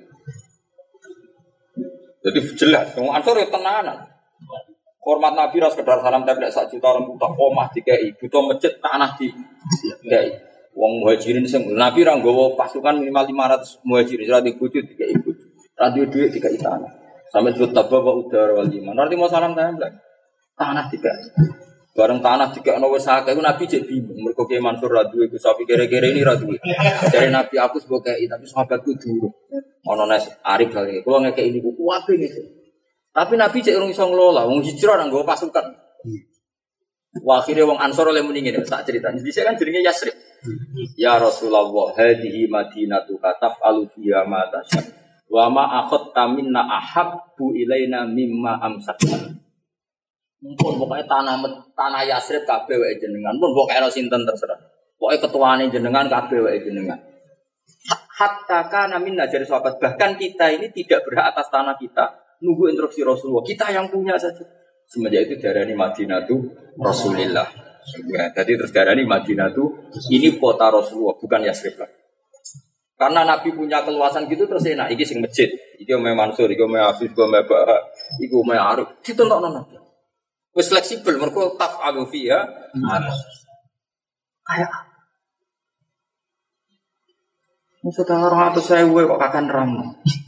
Jadi jelas, wong Ansor ya tenanan. Hormat Nabi ras sekedar salam tempel 1 juta orang butuh omah dikei, butuh masjid tanah dikei. Wong muhajirin sing Nabi ra nggawa pasukan minimal 500 muhajirin, ora dibujut dikei bojo. Radio duit dikei tanah. Sampai disebut tabwa udara wal iman. Nanti mau salam tempel. Tanah dikei. Bareng tanah dikekno wis akeh iku Nabi jek bingung. Mergo Ki Mansur ra duwe Gus Sapi kere-kere ini ra duwe. Dari Nabi aku sebagai tapi sahabatku durung. Ono nes Arif kali. Kulo ngekeki niku kuwabe ngene. Tapi Nabi cek urung iso ngelola, wong hijrah nang nggawa pasukan. Wah, akhirnya wong Ansor oleh muni ngene tak cerita. Jadi kan jenenge Yasrib. Ya Rasulullah, hadhihi Madinatu kataf'alu fiha ma tasha. Wa ma akhadta minna ahabbu ilaina mimma amsakna. Mumpun pokoknya tanah Yasrib kabeh wae jenengan. Mumpun pokoke ana sinten terserah. Pokoke ketuane jenengan kabeh wae jenengan. Hatta kana minna jadi sahabat, bahkan kita ini tidak berhak atas tanah kita. Nunggu instruksi Rasulullah. Kita yang punya saja. Semenjak itu darani Madinatu Rasulillah. Ya, jadi terus darani Madinatu ini kota Rasulullah, bukan Yasrib lah. Karena Nabi punya keluasan gitu terus enak. Iki sing masjid, iki Umay Mansur, iki Umay Afif, iki Umay Baha, iki Umay Arif. Ditontokno Nabi. Wis fleksibel mergo taf'alu fiha. Kayak maksudnya 200.000 kok akan ramah.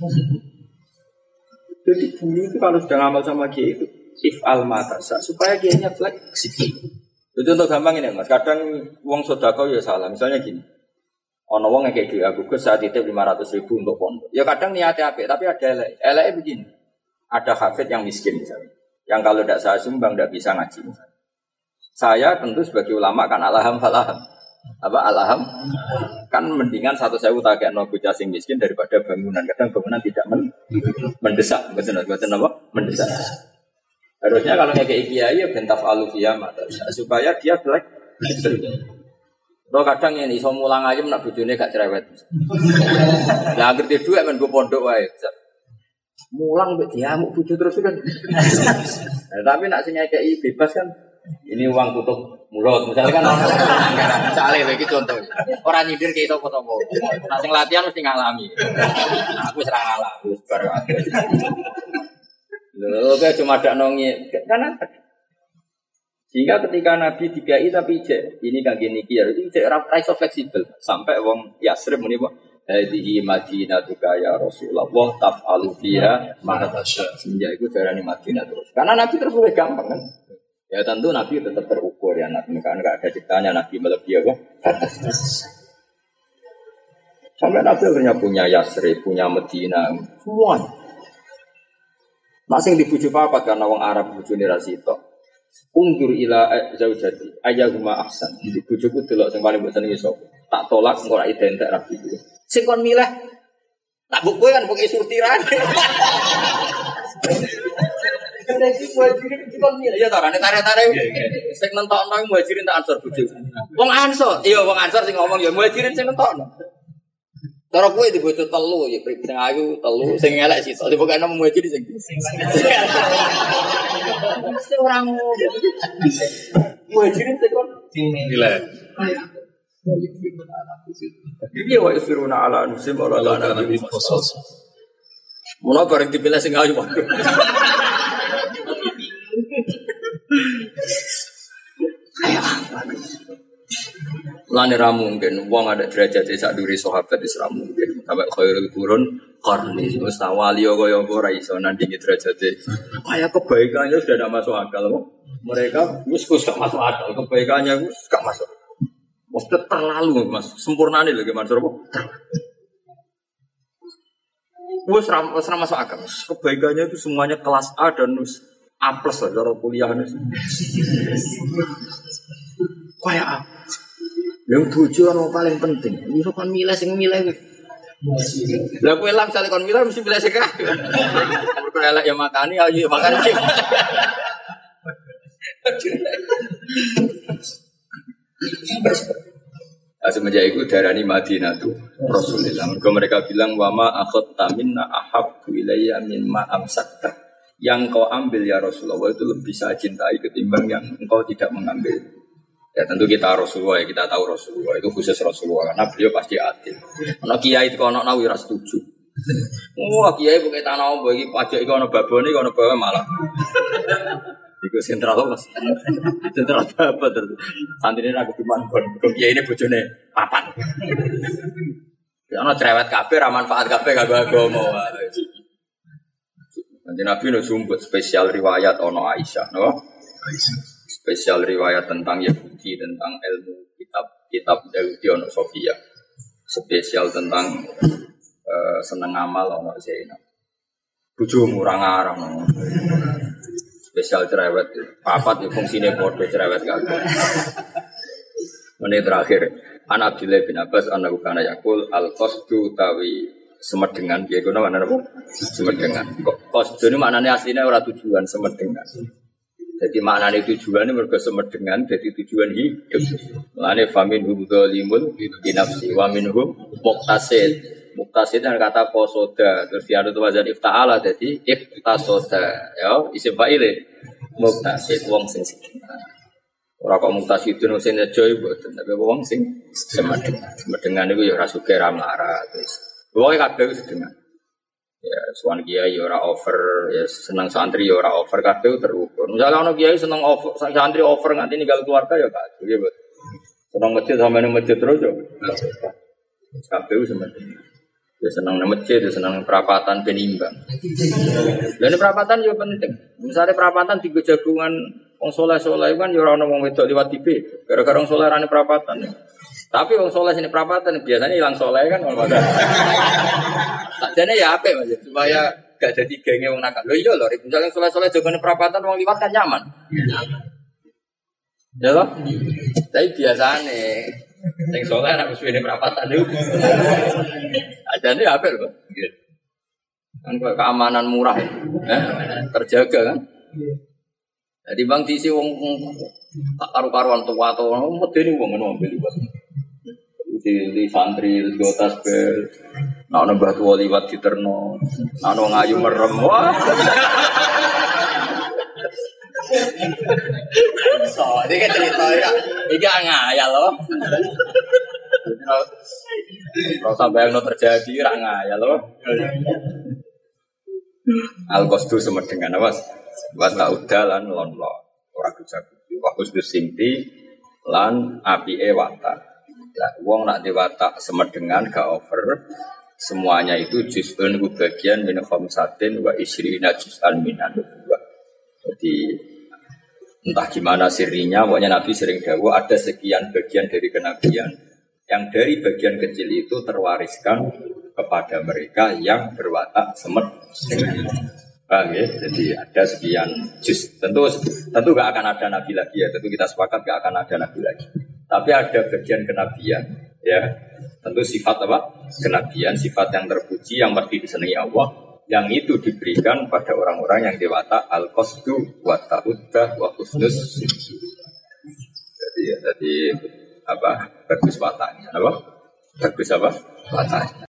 Jadi bumi itu kalau sudah ngamal sama kiai itu if'al matasa supaya kiainya fleksibel. Itu untuk gampang ini mas. Kadang uang sodako ya salah. Misalnya gini, ono wong yang kayak aku ke saat itu 500.000 untuk pondok. Ya kadang niatnya apik, tapi ada elek begini. Ada hafid yang miskin misalnya, yang kalau tidak saya sumbang tidak bisa ngaji. Misalnya. Saya tentu sebagai ulama kan alham falaham. Apa alham kan mendingan 1.000 tak kayak no bocah sing miskin daripada bangunan. Kadang bangunan tidak mendesak, betul apa? Mendesak. Harusnya kalau kayak kiai ya bentaf alufiyah mata supaya dia black. Lo kadang ini iso mulang aja nak bojone gak cerewet. Lah ngerti dhuwit men go pondok wae. Mulang mbek diamuk bojo terus kan. Tapi nak sing kayak bebas kan. Ini uang tutup mulut, misalnya kan misalnya begitu contoh. Orang nyindir kayak itu foto-foto. Nah, sing latihan mesti ngalami. Nah, aku serang ngalami, baru aku. Loh, kayak cuma ada nongnya, karena sehingga ketika Nabi dikai tapi cek ini kan gini kiar itu cek raiso fleksibel sampai wong Yasrib muni kok hadihi Madinatuka ya Rasulullah taf'alu fiha ma tasya. Semenjak itu darani Madinah terus. Karena Nabi terus lebih gampang kan. Ya tentu Nabi tetap terukur ya Nabi kan enggak ada ciptanya Nabi melebihi apa? Batas. Sampai Nabi akhirnya punya Yasrib, punya Medina, semua. Masing dibujuk apa karena wong Arab bojone ra sitok. Ungdur ila zaujati ayyuhuma ahsan. Dibujuku delok sing paling mbok senengi sapa. Tak tolak engko ora identik rabi kuwi. Sing kon milih tak mbok kowe kan pokoke surtirane. seleksi muhajirin itu kan ya tarane tarik-tarik. Sing nentokno muhajirin tak ansor bojo. Wong ansor, iya wong ansor sing ngomong ya muhajirin sing nentokno. Cara kowe di bojo telu ya prip sing ayu telu sing elek sitok dipokokno muhajirin sing. Mesti ora ngono. Muhajirin sing kon Nilai. Iya wa yusiruna ala nusim wa la nabi qasas. Mula bareng dipilih sing ayu waduh. Lane ra mungkin wong ada derajat sak duri sahabat wis ra mungkin. Sampai khairul qurun qarni wis wali kaya ora iso nandingi derajate. Kaya kebaikannya sudah tidak masuk akal kok. Mereka wis gak masuk akal, kebaikannya wis gak masuk. Waktu terlalu mas, sempurna nih lagi Mansur kok. Wes ramah masuk akal. Kebaikannya itu semuanya kelas A dan A plus lah cara kuliahnya. Kayak A. Yang tujuh orang paling penting. Bisa kan milih sing milih. Lah kowe lah misalnya kon milih mesti milih sing kabeh. Mergo elek ya makani ayo makan. Semenjak itu darani Madinah tuh Rasulullah. Mereka bilang wama akhadta minna ahabbu ilayya mimma amsakta. Yang kau ambil ya Rasulullah itu lebih saya cintai ketimbang yang engkau tidak mengambil. Ya tentu kita Rasulullah ya, kita tahu Rasulullah itu khusus Rasulullah karena beliau pasti adil. Ana kiai itu ana nawi ora setuju. Wah kiai bukan tanah om bagi pajak itu ana babone ana bawa malah. Iku sentral Mas. Sentral apa terus. Santrine aku diman kon kiai ini bojone papan. Ya ana cerewet kabeh ra manfaat kabeh kanggo agama. Nanti Nabi no sumput spesial riwayat ono Aisyah, no? Spesial riwayat tentang Yahudi, tentang ilmu kitab Yahudi ono Sofia. Spesial tentang seneng amal ono Zainab. Bojomu ora ngarang. No? Spesial cerewet, papat fungsine padha cerewet kabeh. Menit terakhir, An Abdullah bin Abbas annahu kana yaqul al-qasdu tawi semedengan dia guna mana apa? Semedengan. Qasdu ini maknanya aslinya ora tujuan semedengan. Jadi maknanya tujuan ini mergo semedengan jadi tujuan hidup. Maknanya faminhum dzalimun bi nafsi wa minhum muqtasid. Muqtasid dan kata qasoda terus dia ada wazan ifta'ala jadi iqtasoda ya isim fa'il muqtasid wong sing sedengan. Ora kok muqtasid itu sing joy mboten tapi wong sing semedengan. Semedengan iku ya ora sugih ra mlarat wis. Pokoknya kabeh sedengan. Ya, suan kiai ora over, ya senang santri ya ora over kabeh terukur. Misalnya ono kiai seneng over, santri over nganti ninggal keluarga ya kabeh ya, Bos. Seneng masjid sama nang masjid terus ya. Kabeh sementing. Ya seneng nang masjid, ya seneng perapatan ben imbang. Lah perapatan ya penting. Misalnya perapatan tiga jagungan wong saleh-saleh kan ya ora ono wong wedok liwat TV. Gara-gara wong saleh rane perapatan. Ya. Tapi wong soleh sini perapatan biasanya hilang soleh kan kalau ada. Sakjane ya apik Mas supaya gak jadi genge wong nakal. Lho iya lho, misalnya soleh-soleh jogone perapatan wong liwat kan nyaman. Ya loh. Tapi biasane sing soleh anak suwene perapatan niku. Sakjane ya apik lho. Kan keamanan murah. Terjaga kan. Jadi bang diisi wong tak karu-karuan tua atau medeni wong ngono ambil liwat. Di santri go tasbih nak nambah tua liwat diterno nak ngayu merem wah so ini kan cerita ya ini ngayal loh kalau sampai yang terjadi rak ngayal loh al-qasdu semedengan awas buat tak udalan lon orang bisa waktu sinti lan api watak. Lah, wong nak diwatak semedengan gak over. Semuanya itu juz'un bagian min khamsatin wa isrina juz'an minan nubuwah. Jadi entah gimana sirinya, pokoknya Nabi sering dawuh ada sekian bagian dari kenabian yang dari bagian kecil itu terwariskan kepada mereka yang berwatak semedengan. Paham ya? Jadi ada sekian juz. Tentu gak akan ada nabi lagi ya. Tentu kita sepakat gak akan ada nabi lagi. Tapi ada bagian kenabian, ya. Tentu sifat apa? Kenabian, sifat yang terpuji, yang pasti disenangi Allah, yang itu diberikan pada orang-orang yang dewata al-qasdu wa ta'uddah wa husnus. Jadi apa? Bagus wataknya, apa? Bagus apa? Wataknya.